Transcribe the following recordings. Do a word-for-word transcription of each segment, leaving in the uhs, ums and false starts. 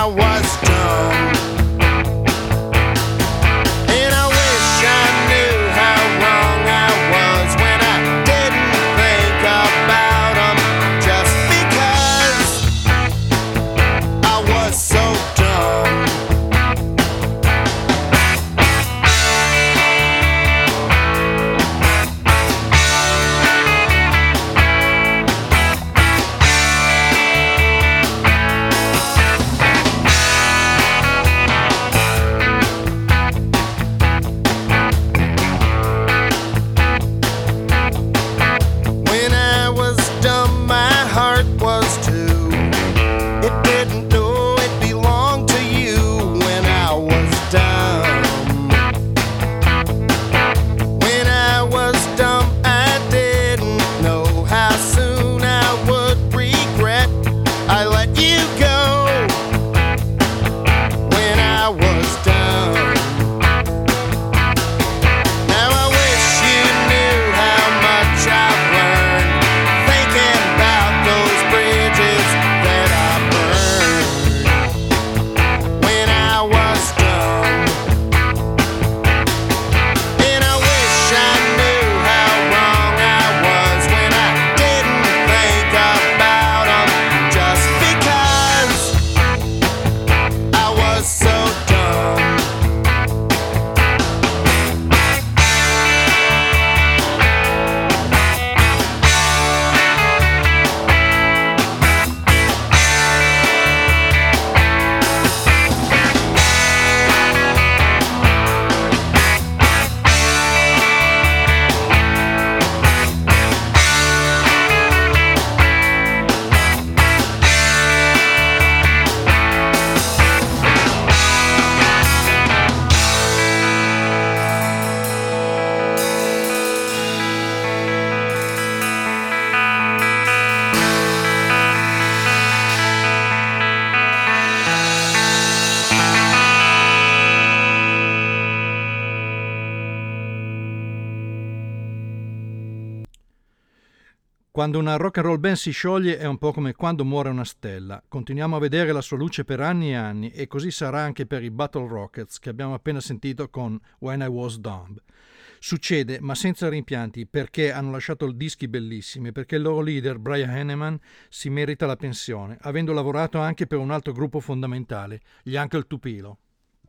Quando una rock and roll band si scioglie è un po' come quando muore una stella. Continuiamo a vedere la sua luce per anni e anni, e così sarà anche per i Battle Rockets che abbiamo appena sentito con When I Was Dumb. Succede, ma senza rimpianti, perché hanno lasciato dischi bellissimi, perché il loro leader, Brian Henneman, si merita la pensione, avendo lavorato anche per un altro gruppo fondamentale, gli Uncle Tupelo.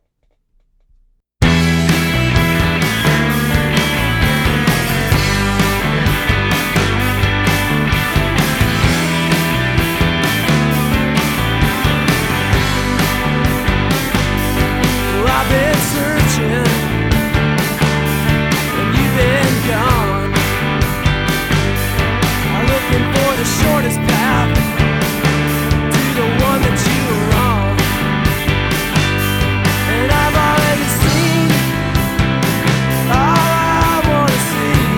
I've been searching and you've been gone. I'm looking for the shortest path to the one that you were on. And I've already seen all I wanna see.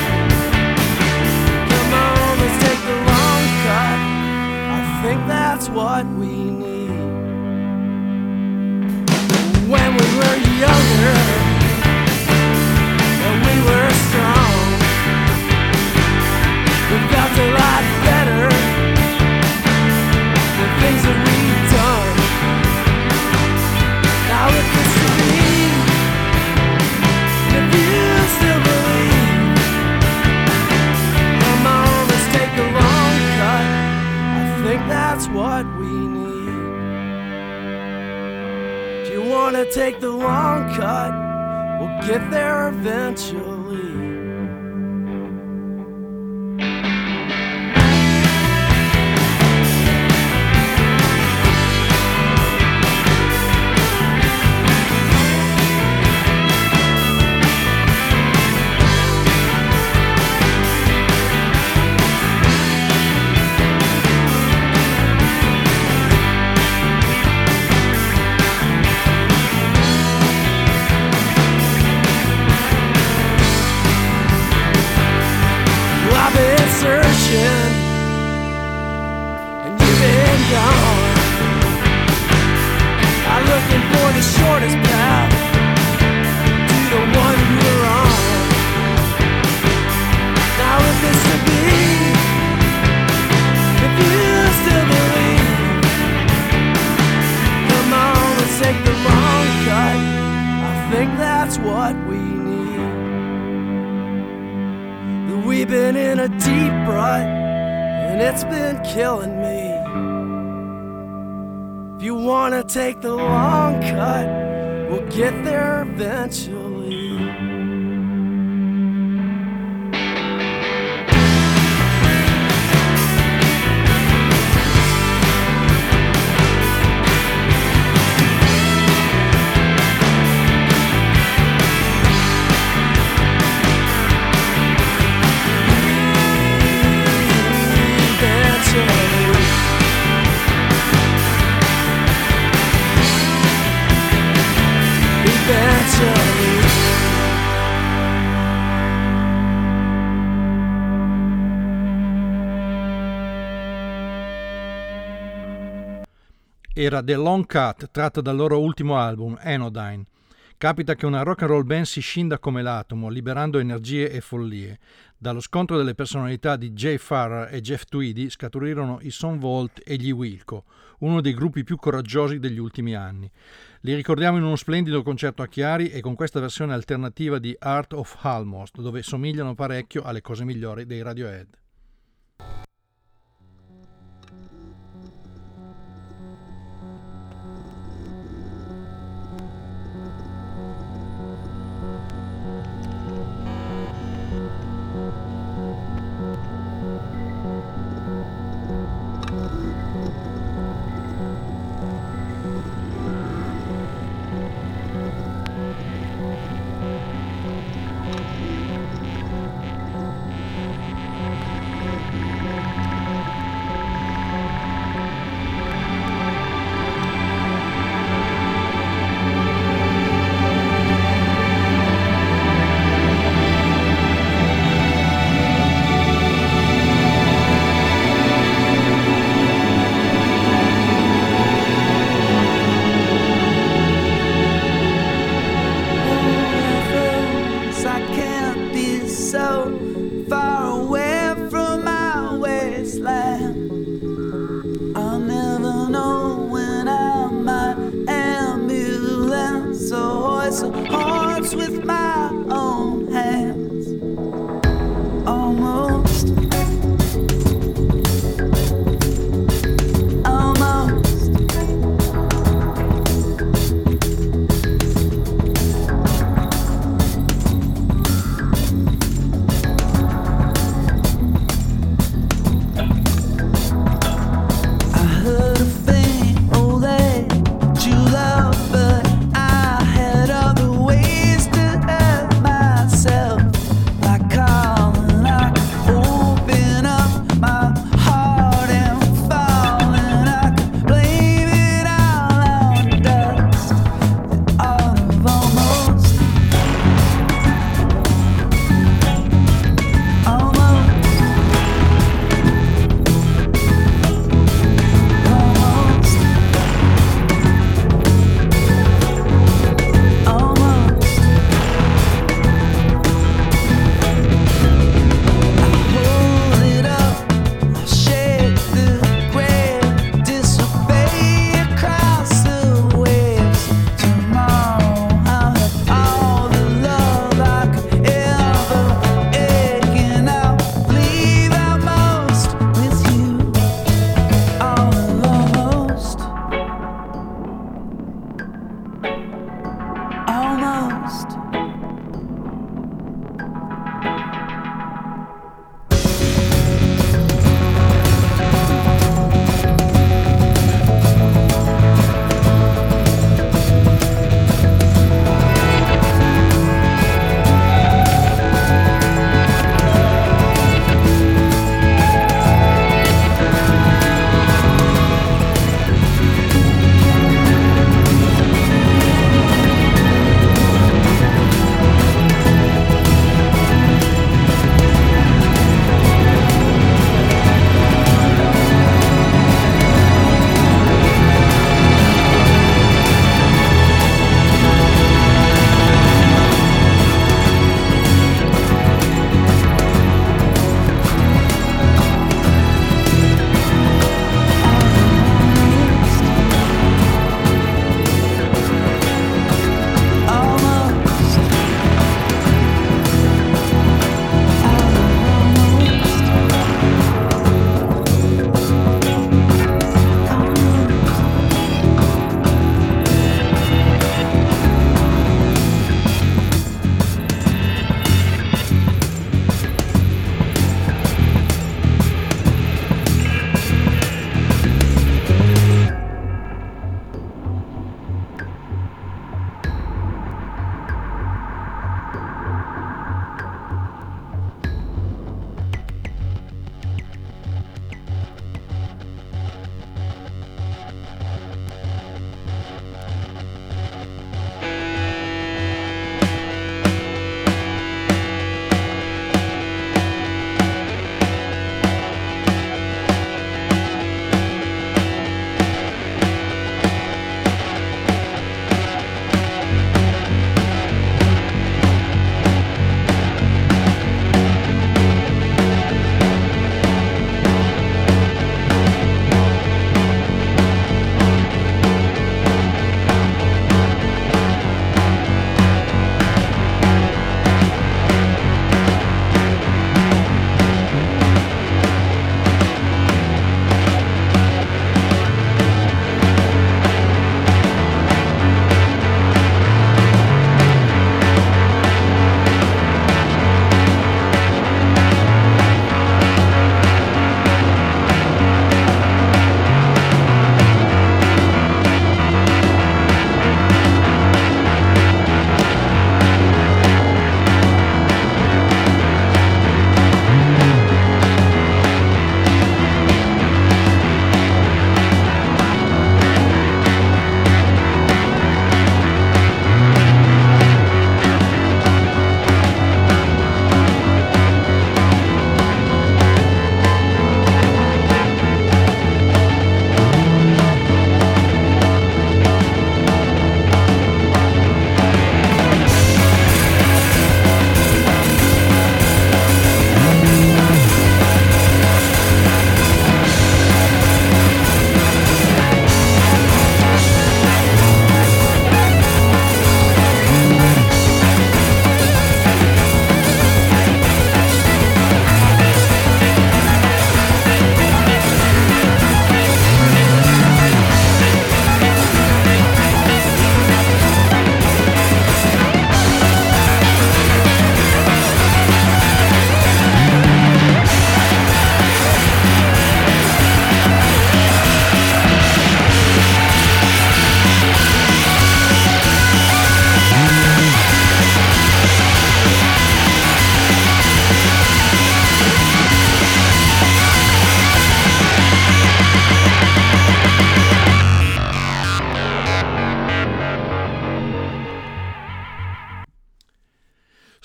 Come on, let's take the long cut. I think that's what we need. When we were younger and we were strong, we felt a lot better the things that we've done. Now if you see, if you still believe, come on, let's take the long cut. I think that's what we need. Wanna take the long cut, we'll get there eventually. in a deep rut, and it's been killing me. If you wanna take the long cut, we'll get there eventually. Era The Long Cut, tratta dal loro ultimo album, Anodyne. Capita che una rock and roll band si scinda come l'atomo, liberando energie e follie. Dallo scontro delle personalità di Jay Farrar e Jeff Tweedy scaturirono i Son Volt e gli Wilco, uno dei gruppi più coraggiosi degli ultimi anni. Li ricordiamo in uno splendido concerto a Chiari e con questa versione alternativa di Art of Almost, dove somigliano parecchio alle cose migliori dei Radiohead. True love, but I had other ways to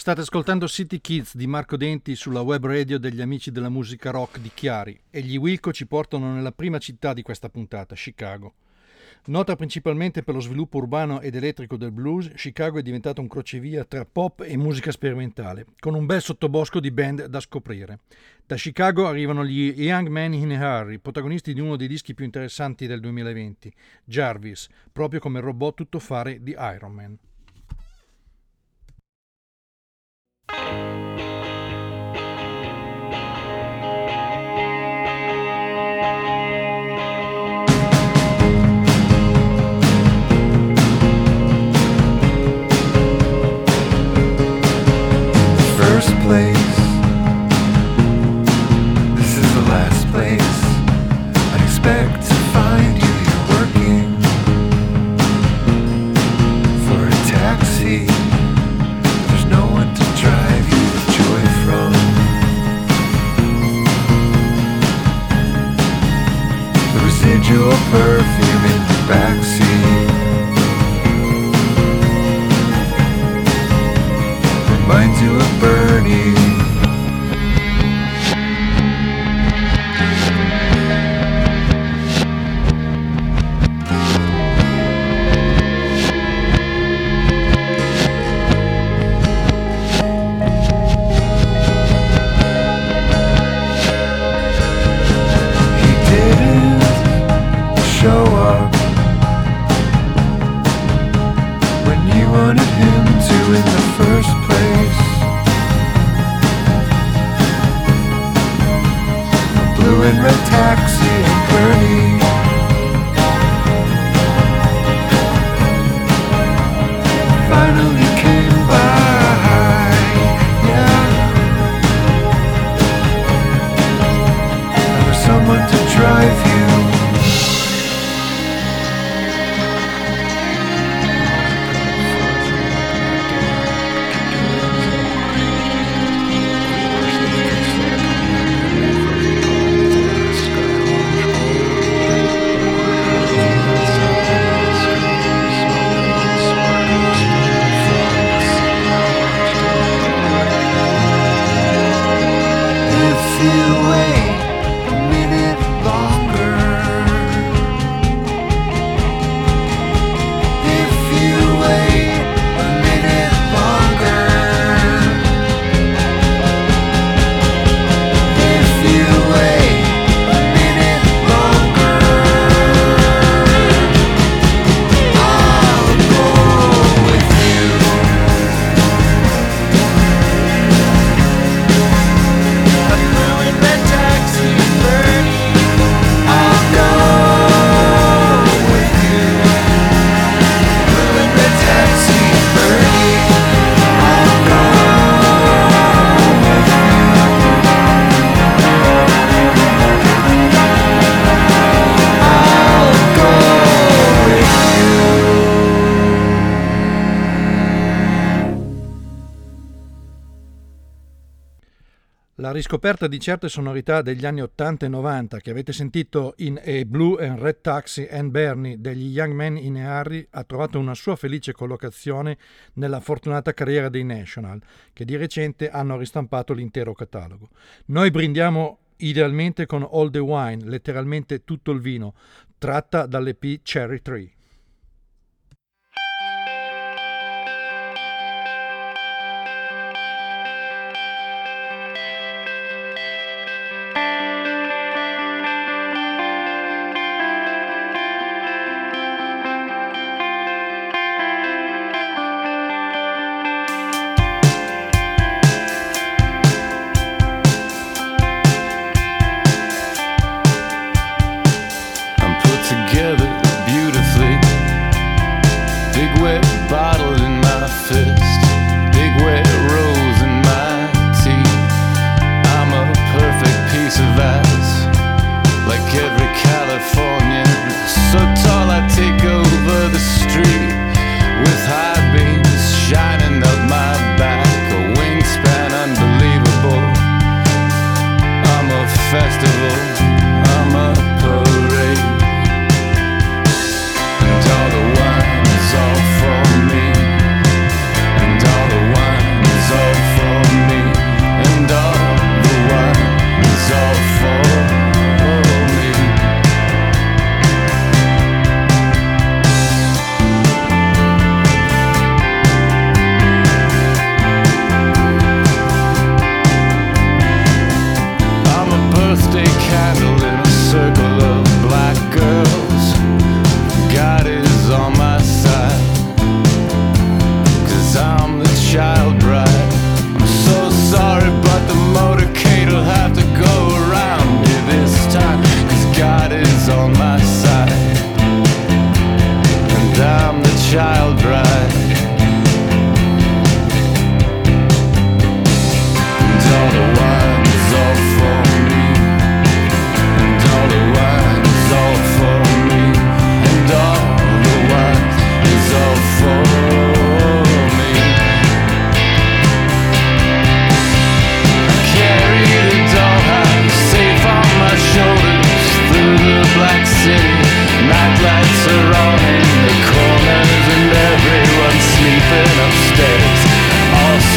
State ascoltando City Kids di Marco Denti sulla web radio degli amici della musica rock di Chiari e gli Wilco ci portano nella prima città di questa puntata, Chicago. Nota principalmente per lo sviluppo urbano ed elettrico del blues, Chicago è diventato un crocevia tra pop e musica sperimentale, con un bel sottobosco di band da scoprire. Da Chicago arrivano gli Young Men in a Hurry, protagonisti di uno dei dischi più interessanti del duemilaventi, Jarvis, proprio come il robot tuttofare di Iron Man. First place, this is the last place I expect to find you. You're working for a taxi. There's no one to drive you the joy from. The residual perfume in the backseat reminds you of Bernie. He didn't show up when you wanted him to in the first place. A blue and red taxi and Bernie finally came by. Yeah, there was someone to drive you. If you wait a minute longer, if you wait a minute longer, if you wait a minute longer, I'll go with you. A blue and red taxi, Bernie. I'll go with you. Blue and red taxi, Bernie. I'll go with you. I'll go with you. La riscoperta di certe sonorità degli anni ottanta e novanta che avete sentito in A Blue and Red Taxi and Bernie degli Young Men in a Hurry ha trovato una sua felice collocazione nella fortunata carriera dei National, che di recente hanno ristampato l'intero catalogo. Noi brindiamo idealmente con All the Wine, letteralmente tutto il vino, tratta dall'E P Cherry Tree. I'm put together beautifully. Big wet bottle in my fist. Big wet rose in my tea. I'm a perfect piece of ice, like every Californian. So tall I take over the street with high beams shining up my back. A wingspan unbelievable. I'm a festival. I'm a parade. And all the wine is all for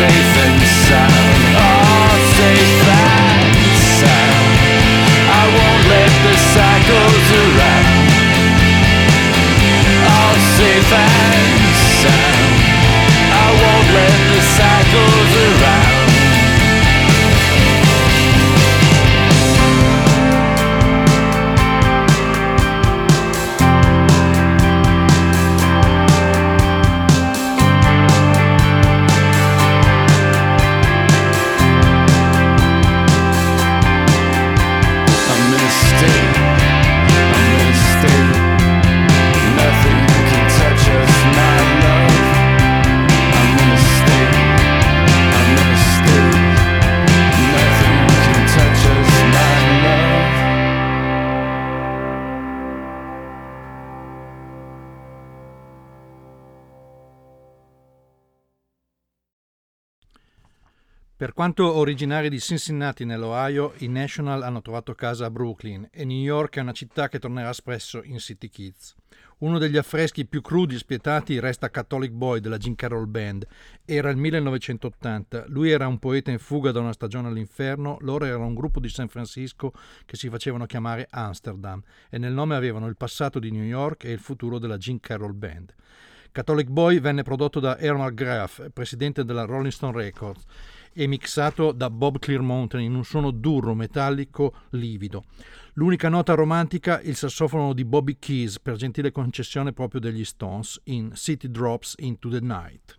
safe and sound, all safe and sound. I won't let the cycles around, all safe and sound. I won't let the cycles around. Per quanto originari di Cincinnati nell'Ohio, i National hanno trovato casa a Brooklyn e New York è una città che tornerà spesso in City Kids. Uno degli affreschi più crudi e spietati resta Catholic Boy della Jim Carroll Band. Era il millenovecentottanta, lui era un poeta in fuga da una stagione all'inferno, loro erano un gruppo di San Francisco che si facevano chiamare Amsterdam e nel nome avevano il passato di New York e il futuro della Jim Carroll Band. Catholic Boy venne prodotto da Earl McGrath, presidente della Rolling Stone Records, e mixato da Bob Clearmountain in un suono duro, metallico, livido. L'unica nota romantica, il sassofono di Bobby Keys, per gentile concessione proprio degli Stones, in City Drops Into the Night.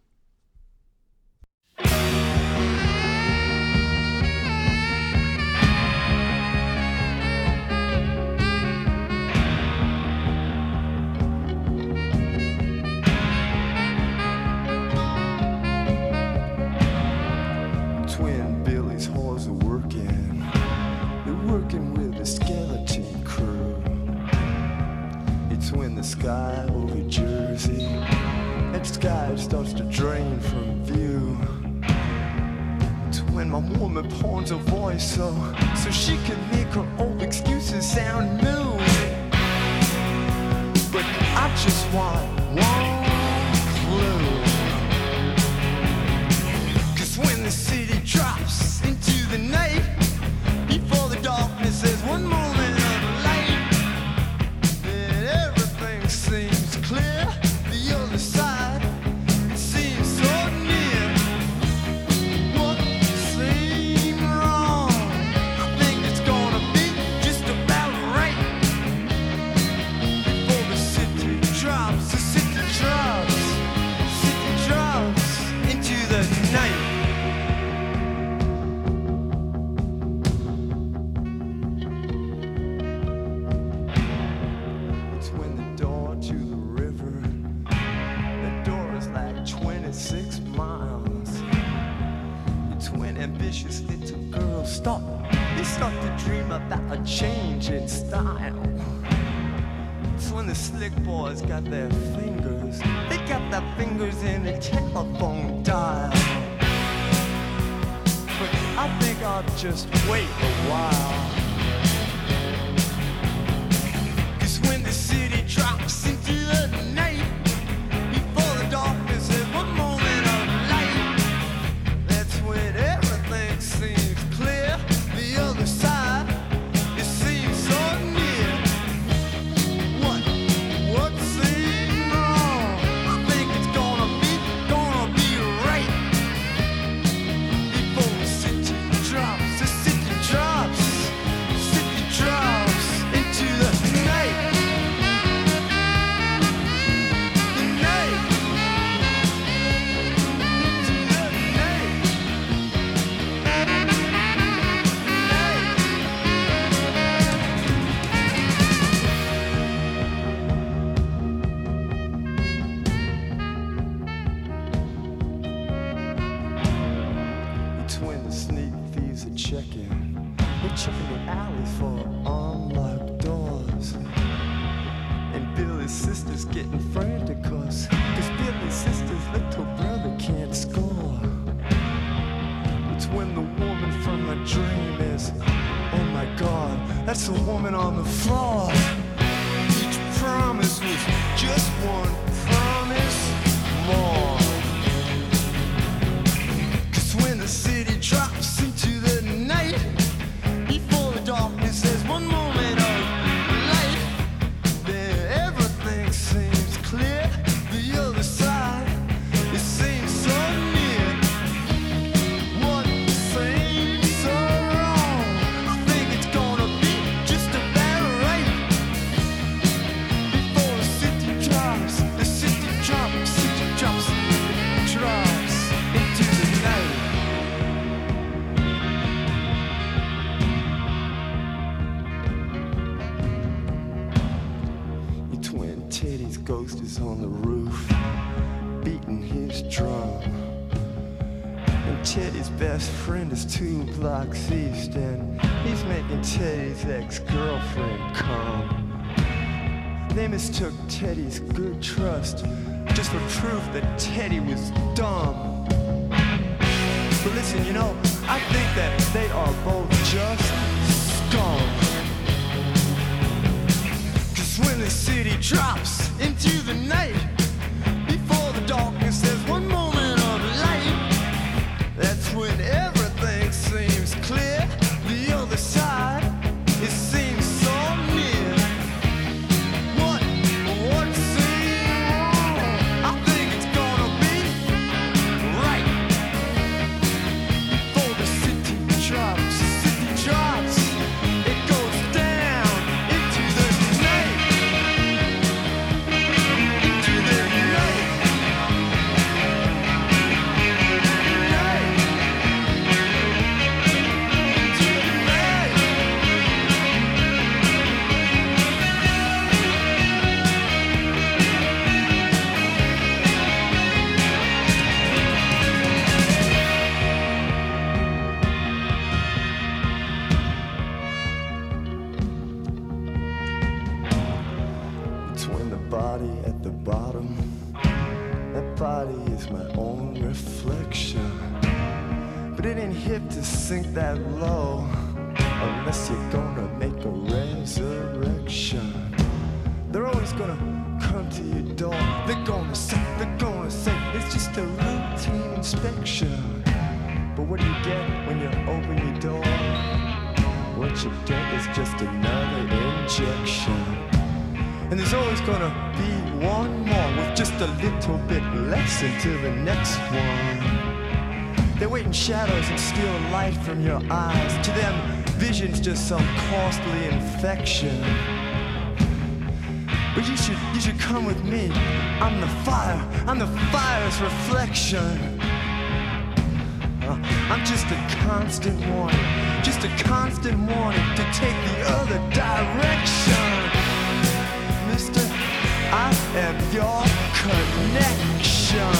Twin Billy's whores are working. They're working with a skeleton crew. It's when the sky over Jersey, that sky starts to drain from view. It's when my woman pawns her voice so, so she can make her old excuses sound new. But I just want one clue. When the city drops into the night, before the darkness there's one moment of light, then everything seems clear. The other side, it seems so near. What seemed wrong, I think it's gonna be just about right. Before the city drops, the city drops, city drops into the night. Six miles. It's when ambitious little girls stop. They start to dream about a change in style. It's when the slick boys got their fingers. They got their fingers in the telephone dial. But I think I'll just wait a while. 'Cause when the city drops into the night, before the darkness is one moment of light, that's when everything seems clear. The other side, it seems so near. What, what seemed wrong? I think it's gonna be, gonna be right. Before the city drops, the city drops, the city drops into the night. The night. It's when the sneak thieves are checking. They're checking the alley for unlocked doors. And Billy's sister's getting frantic cause, cause Billy's sister's little brother can't score. It's when the woman from my dream is, oh my God, that's the woman on the floor. Each promise was just one promise more. Teddy's ghost is on the roof, beating his drum. And Teddy's best friend is two blocks east, and he's making Teddy's ex-girlfriend come. They mistook Teddy's good trust just for proof that Teddy was dumb. But listen, you know, I think that they are both just scum. Cause when the city drops into the night, before the darkness there's one moment of light. That's when everything seems clear. The other side, it seems so near. What, what seems wrong? I think it's gonna be right. Before the city drops, city drops, it goes down into the night, into the night, night, into the night. Between the body at the bottom, that body is my own reflection. But it ain't hip to sink that low unless you're gonna make a resurrection. They're always gonna come to your door. They're gonna say, they're gonna say it's just a routine inspection. But what do you get when you open your door? What you get is just another injection. And there's always gonna be one more with just a little bit less until the next one. They wait in shadows and steal light from your eyes. To them, vision's just some costly infection. But you should, you should come with me. I'm the fire, I'm the fire's reflection. Uh, I'm just a constant warning, just a constant warning to take the other direction. Mister, I am your connection.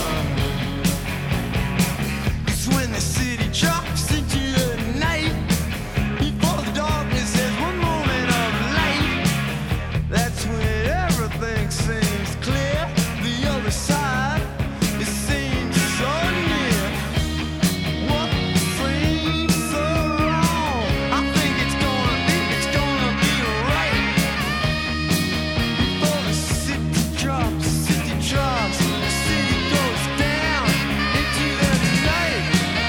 Cause when the city drops into the night, before the darkness there's one moment of light. That's when everything seems clear. The other side, it seems so near. What seems so wrong? I think it's gonna be, it's gonna be right. Before the city drops, city drops, the city goes down into the night,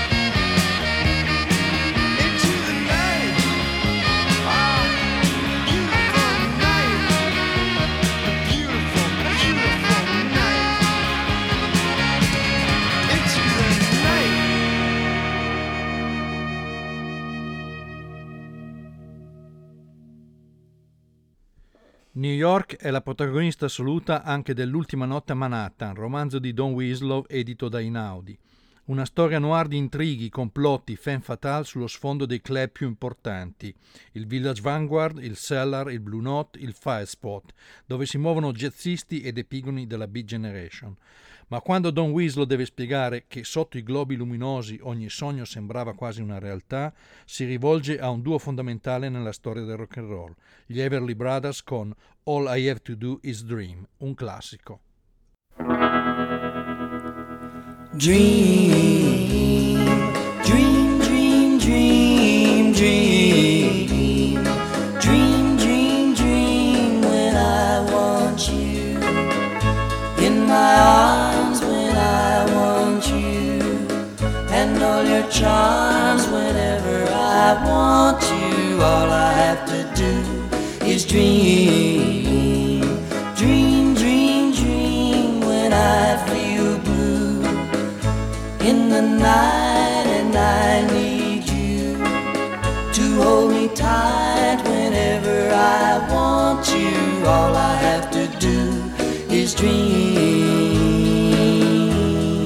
into the night. Ah, beautiful night, beautiful, beautiful night, into the night. New York è la protagonista assoluta anche dell'Ultima notte a Manhattan, romanzo di Don Winslow edito da Einaudi. Una storia noir di intrighi, complotti, femme fatale sullo sfondo dei club più importanti, il Village Vanguard, il Cellar, il Blue Note, il Fire Spot, dove si muovono jazzisti ed epigoni della Beat Generation. Ma quando Don Winslow deve spiegare che sotto i globi luminosi ogni sogno sembrava quasi una realtà, si rivolge a un duo fondamentale nella storia del rock and roll, gli Everly Brothers con All I Have to Do Is Dream, un classico. Dream, dream, dream, dream, dream, dream, dream, dream when I want you in my arms, when I want you, and all your charms whenever I want you. All I have to do is dream, dream, dream, dream when I feel blue in the night, and I need you to hold me tight whenever I want you. All I have to do is dream.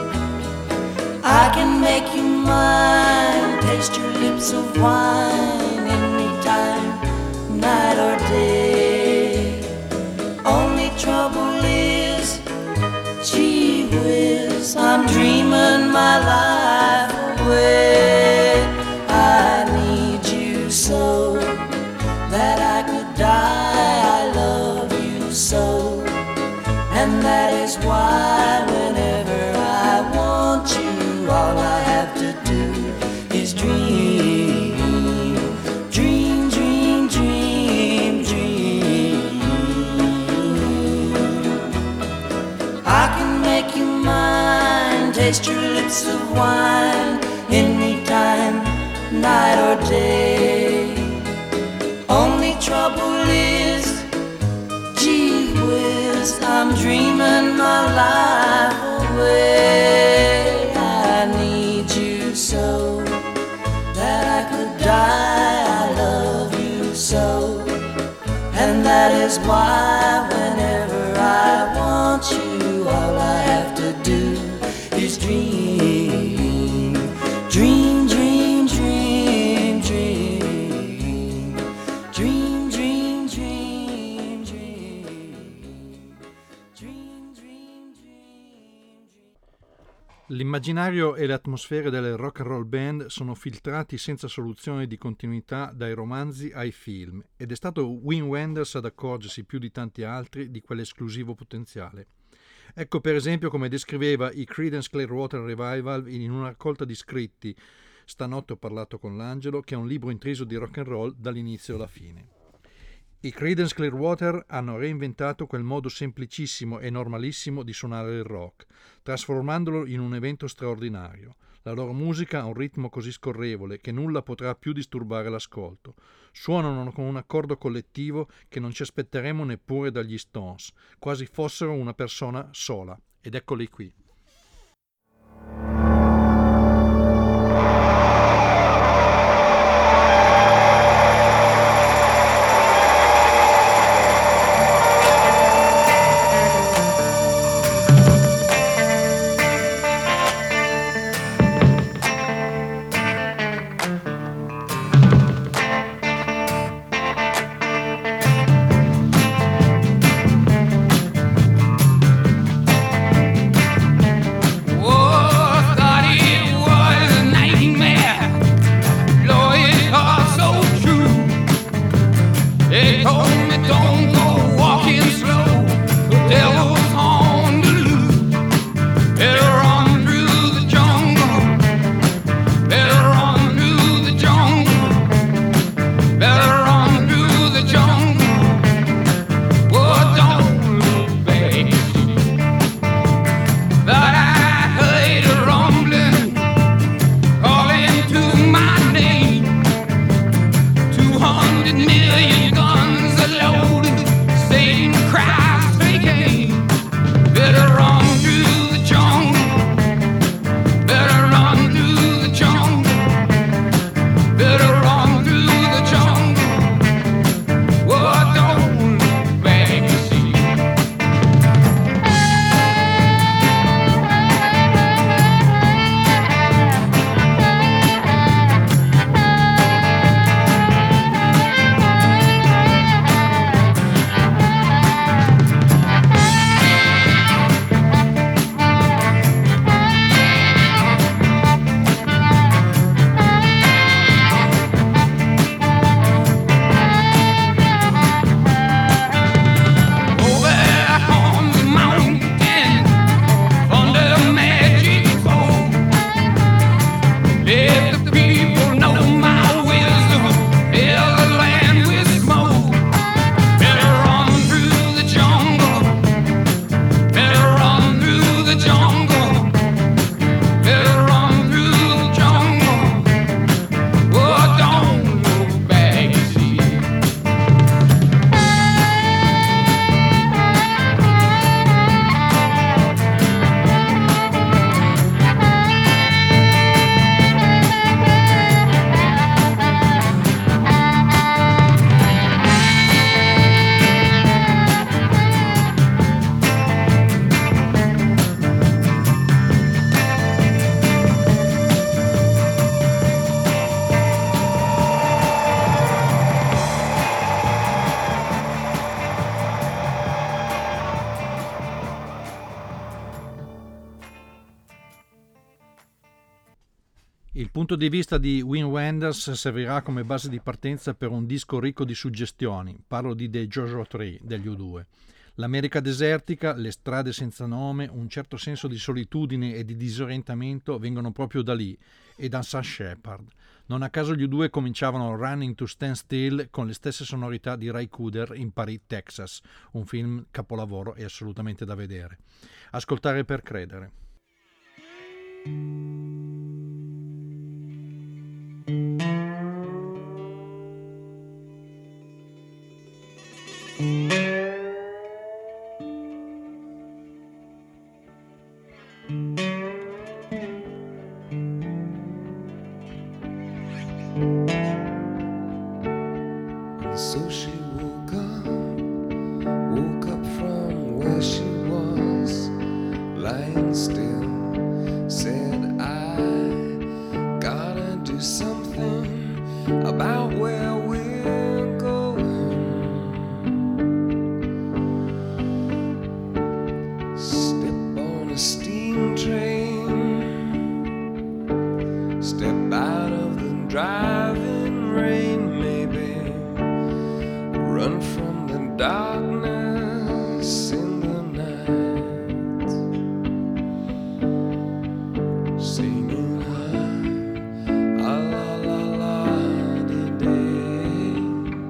I can make you mine, taste your lips of wine anytime, night or day. Only try dreaming my life away. I need you so that I could die. I love you so, and that is why whenever I want you, all I have to do is dream. Dream, dream, dream, dream. I can make you mine, taste your lips of wine, anytime, night or day. Only trouble is, gee whiz, I'm dreaming my life away. I need you so that I could die. I love you so, and that is why whenever I want you, all I have to do is dream. Dream, dream, dream, dream. Dream, dream, dream, dream. Dream, dream, dream, dream. L'immaginario e le atmosfere delle rock and roll band sono filtrati senza soluzione di continuità dai romanzi ai film, ed è stato Wim Wenders ad accorgersi più di tanti altri di quell'esclusivo potenziale. Ecco per esempio come descriveva i Creedence Clearwater Revival in una raccolta di scritti Stanotte ho parlato con l'angelo, che è un libro intriso di rock and roll dall'inizio alla fine. I Creedence Clearwater hanno reinventato quel modo semplicissimo e normalissimo di suonare il rock, trasformandolo in un evento straordinario. La loro musica ha un ritmo così scorrevole che nulla potrà più disturbare l'ascolto. Suonano con un accordo collettivo che non ci aspetteremo neppure dagli Stones, quasi fossero una persona sola. Ed eccoli qui. Il punto di vista di Wim Wenders servirà come base di partenza per un disco ricco di suggestioni. Parlo di The Joshua Tree degli U due. L'America desertica, le strade senza nome, un certo senso di solitudine e di disorientamento vengono proprio da lì e da Sam Shepard. Non a caso gli U due cominciavano Running to Stand Still con le stesse sonorità di Ray Cooder in Paris, Texas, un film capolavoro e assolutamente da vedere. Ascoltare per credere. So she woke up, woke up from where she was, lying still, said I gotta do something about where we're going. Step on a steam train, step out of the driving rain, maybe run from the darkness in the night, singing ah, ah la la la di day,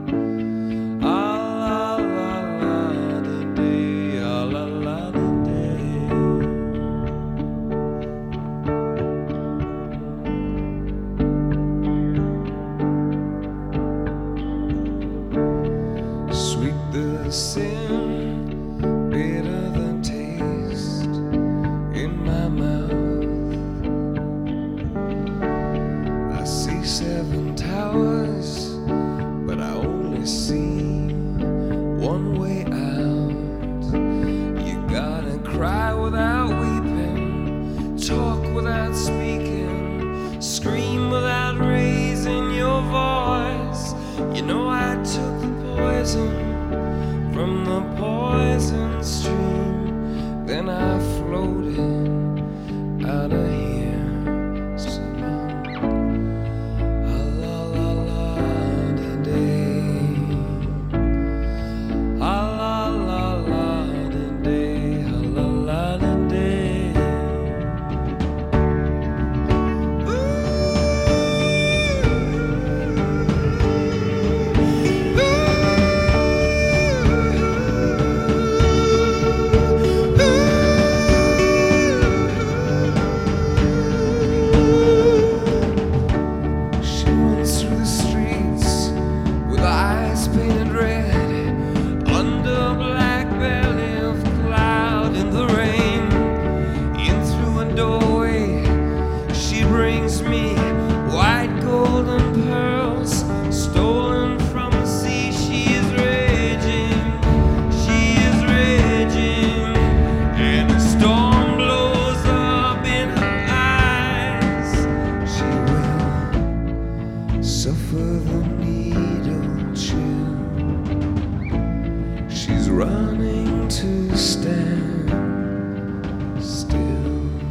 ah la la la di day, ah la la di day. Sweet the sin, bitter the taste in my mouth. I see seven towers, but I only see one way out. You gotta cry without weeping, talk without speaking, scream without raising your voice. You know I took the poison from the poison stream, then I floated out of here, singing ah la la la di day, ah la la la di day, ah la la di day. She runs through the streets with eyes painted red, under a black belly of cloud in the rain. In through a doorway she brings me white golden pearls stolen from the sea. She is raging, she is raging, and a storm blows up in her eyes. She will suffer the needle chill. She's running to stand still.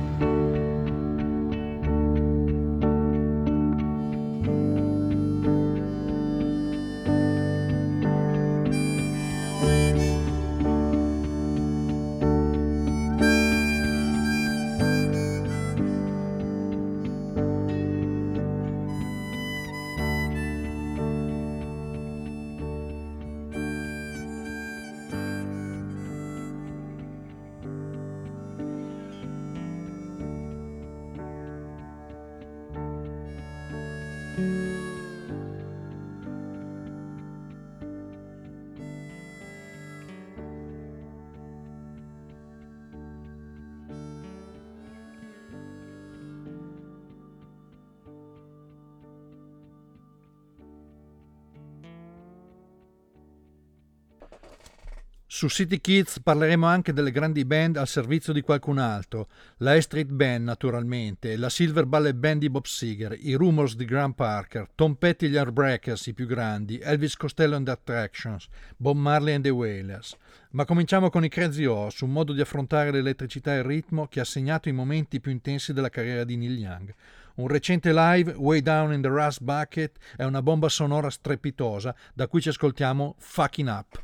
Su City Kids parleremo anche delle grandi band al servizio di qualcun altro, la E Street Band naturalmente, la Silver Ballet Band di Bob Seger, i Rumors di Graham Parker, Tom Petty e gli Heartbreakers, i più grandi, Elvis Costello and the Attractions, Bob Marley and the Wailers. Ma cominciamo con i Crazy Horse, un modo di affrontare l'elettricità e il ritmo che ha segnato i momenti più intensi della carriera di Neil Young. Un recente live, Way Down in the Rust Bucket, è una bomba sonora strepitosa, da cui ci ascoltiamo Fucking Up.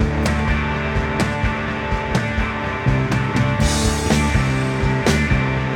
Fucking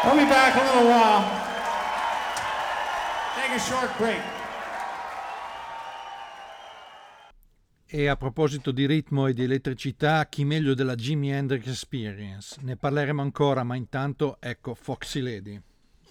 We'll be back in a little while. Take a short break. E a proposito di ritmo e di elettricità, chi meglio della Jimi Hendrix Experience? Ne parleremo ancora, ma intanto ecco Foxy Lady.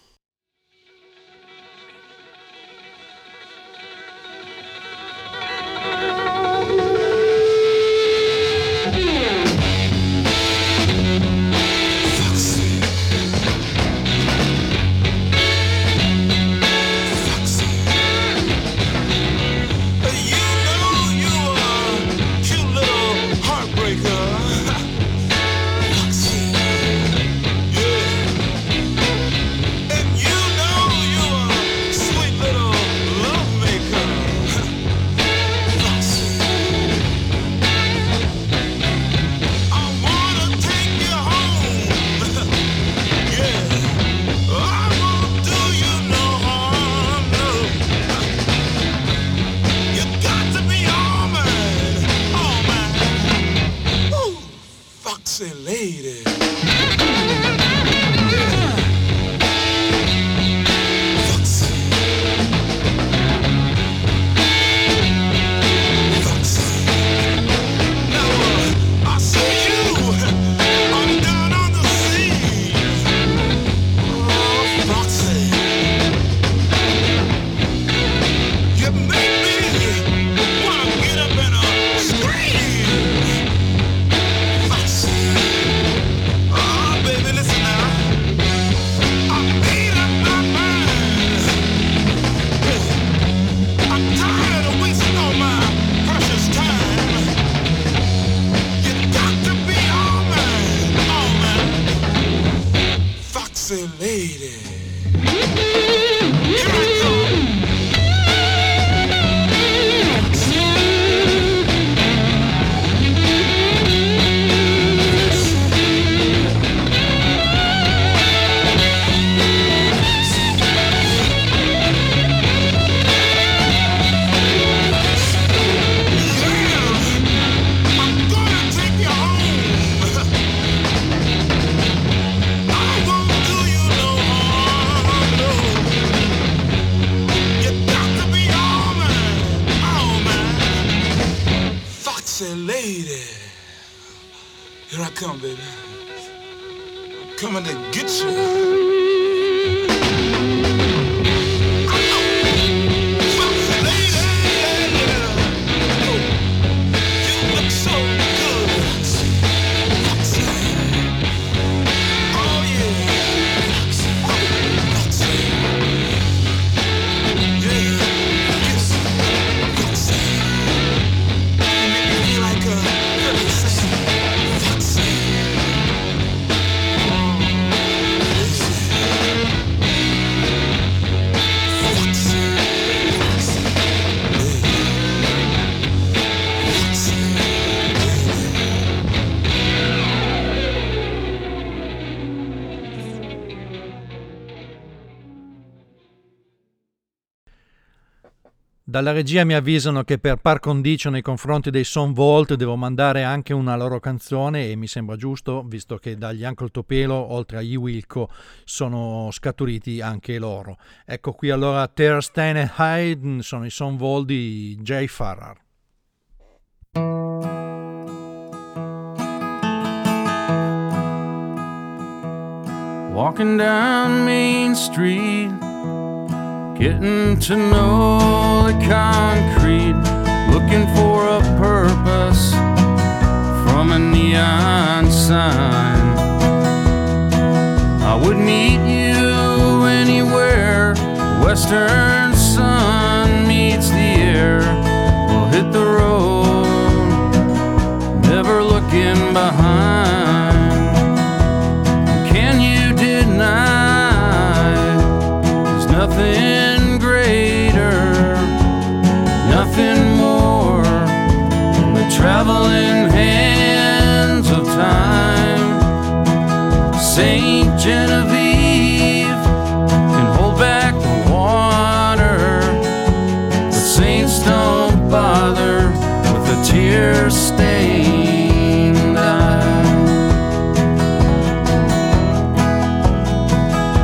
Dalla regia mi avvisano che per par condicio nei confronti dei Son Volt devo mandare anche una loro canzone, e mi sembra giusto, visto che dagli Uncle Tupelo, oltre agli Wilco, sono scaturiti anche loro. Ecco qui allora Tear, Stain and Hide, sono i Son Volt di Jay Farrar. Walking down Main Street, getting to know the concrete, looking for a purpose from a neon sign. I would meet you anywhere, western sun meets the air. We'll hit the road, never looking behind. Can you deny there's nothing greater, nothing more than the traveling hands of time? Saint Genevieve can hold back the water, but saints don't bother with a tear-stained eye.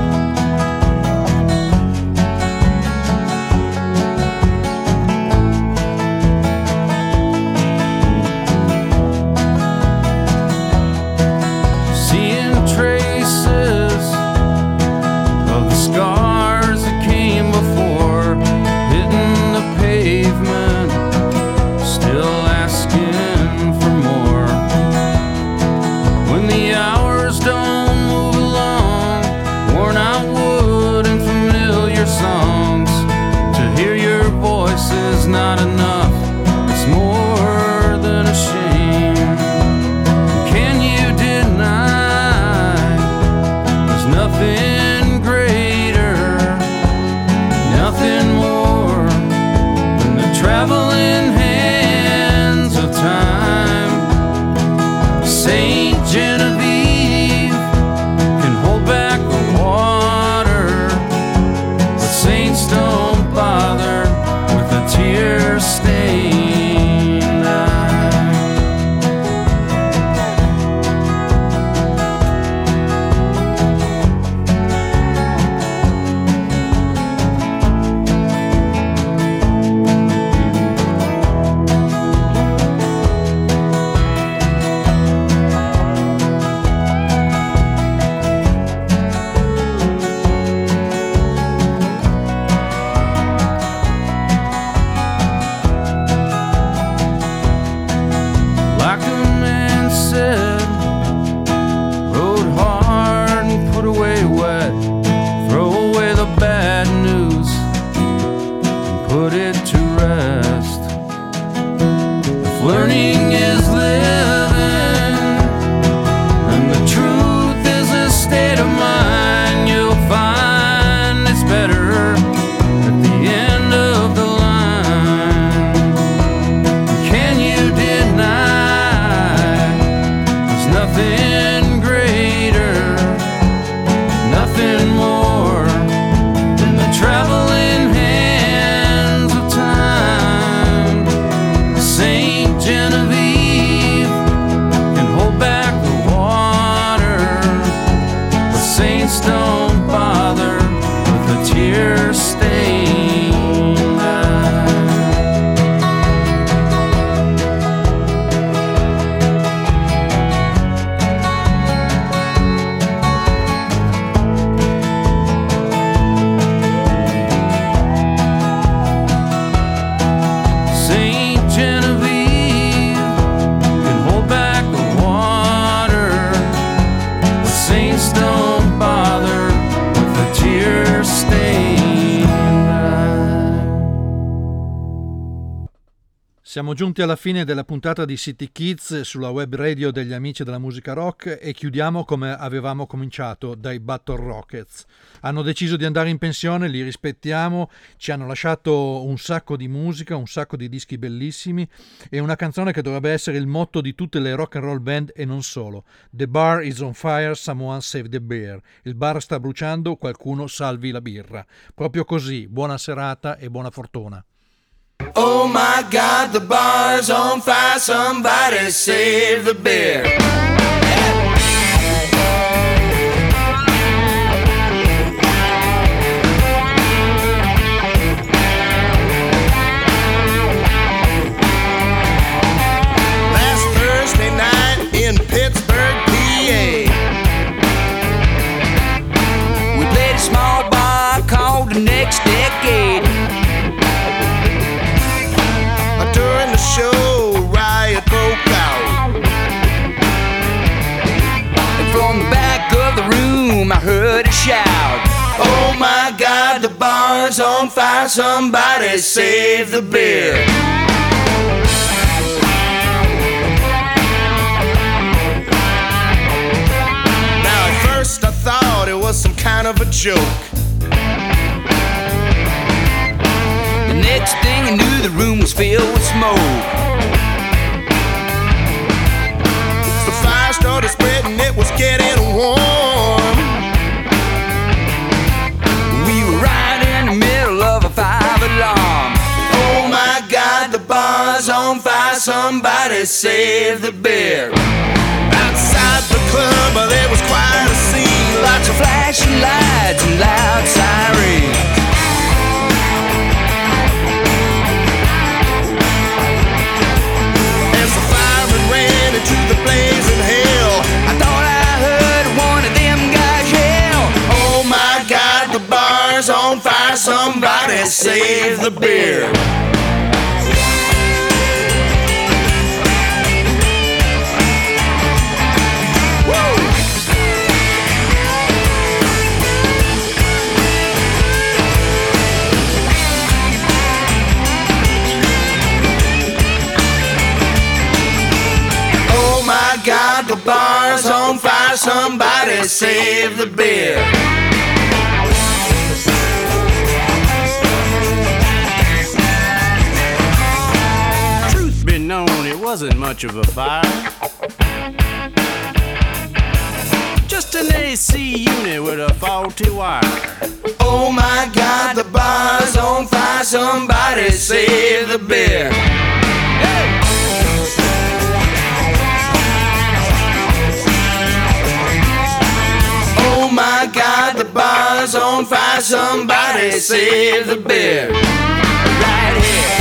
bars don't move along, worn out wood and familiar songs. To hear your voice is not enough, it's more than a shame. Can you deny there's nothing greater, nothing more than the traveling hands of time? Saint Genevieve can hold back the water, but saints don't bother with a tear-stained eye. Like a man said, rode hard and put away wet, throw away the bad news and put it to rest. If learning is living and the truth is a state of mind, you'll find it's better at the end of the line. Can you deny there's nothing greater, nothing more than the traveling hands of time? Saint Genevieve can hold back the water, but saints don't bother with a tear-stained eye. Saint Genevieve can hold back the water, but saints don't bother with a tear-stained eye. Siamo giunti alla fine della puntata di City Kids sulla web radio degli amici della musica rock e chiudiamo come avevamo cominciato, dai Battle Rockets. Hanno deciso di andare in pensione, li rispettiamo, ci hanno lasciato un sacco di musica, un sacco di dischi bellissimi e una canzone che dovrebbe essere il motto di tutte le rock and roll band e non solo. The bar is on fire, someone save the beer. Il bar sta bruciando, qualcuno salvi la birra. Proprio così, buona serata e buona fortuna. Oh my God, the bar's on fire. Somebody save the beer. Last Thursday night in Pittsburgh, P A, we played a small bar called The Next Decade. During the show, riot broke out, and from the back of the room I heard a shout. Oh my God, the bar's on fire. Somebody save the beer. Now at first I thought it was some kind of a joke. Next thing I knew, the room was filled with smoke. The fire started spreading, it was getting warm. We were right in the middle of a five alarm. Oh my God, the bar's on fire. Somebody save the beer. Outside the club, there was quite a scene. Lots of flashing lights and loud sirens. To the blazing hell, I thought I heard one of them guys yell. Oh my God, the bar's on fire. Somebody save the beer. Woo! bar's on fire, somebody save the beer. Truth be known, it wasn't much of a fire. Just an A C unit with a faulty wire. Oh my God, the bar's on fire, somebody save the beer. Hey! Oh my God, the bar's on fire, somebody save the beer. Right here.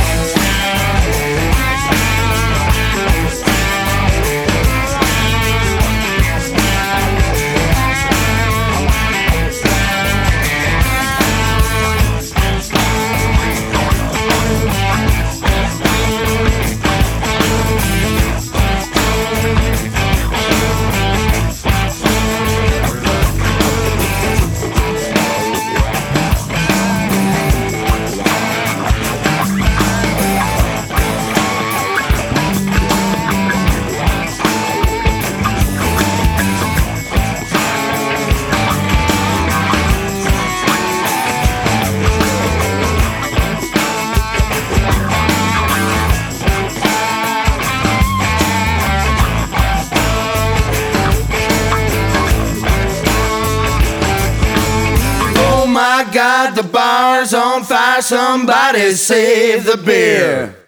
Oh my God, the bar's on fire, somebody save the beer.